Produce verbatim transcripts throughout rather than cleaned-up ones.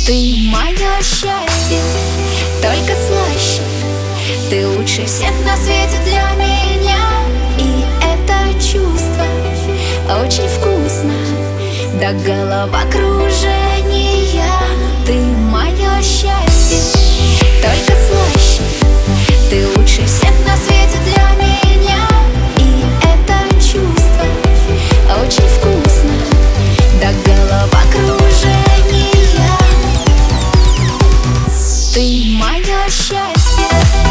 Ты мое счастье, только слаще. Ты лучше всех на свете для меня. И это чувство очень вкусно, до головокружения. Ты мое счастье, только слаще. Ты лучше всех на свете для меня. И это чувство очень вкусно, до головокружения. Ты мое счастье.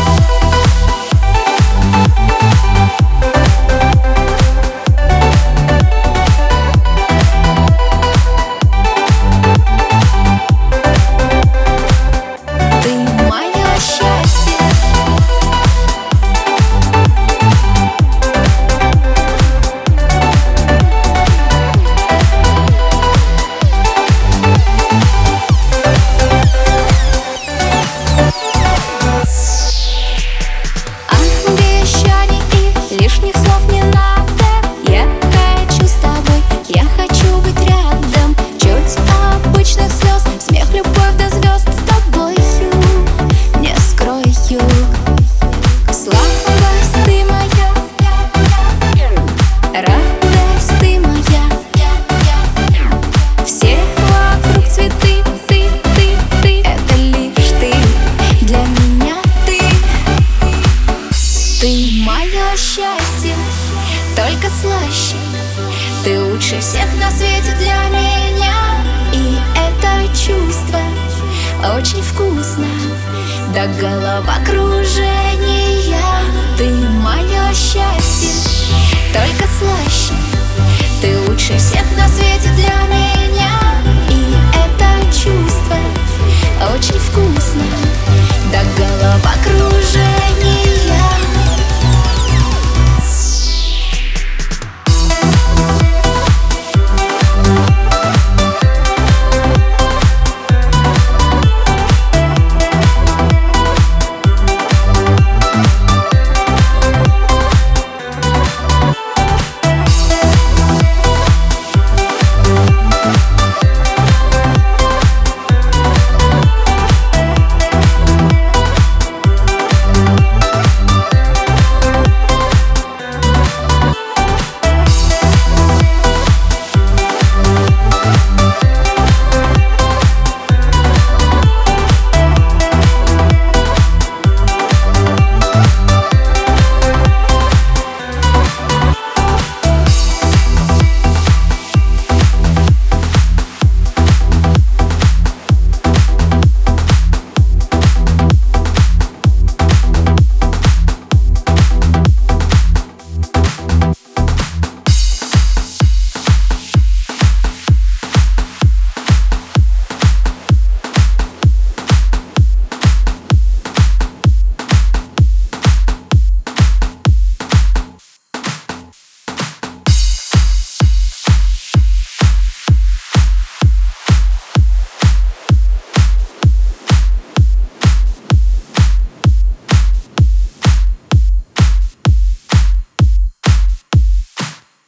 Лишних слов не надо, я хочу с тобой, я хочу быть рядом. Чуть обычных слез, смех, любовь до звезд. С тобою не скрою, слабость ты моя, радость ты моя. Все вокруг цветы, ты, ты, ты, это лишь ты, для меня ты. Ты мое счастье, только слаще. Ты лучше всех на свете для меня. И это чувство очень вкусно, до головокружения. Ты мое счастье, только слаще. Ты лучше всех на свете для меня.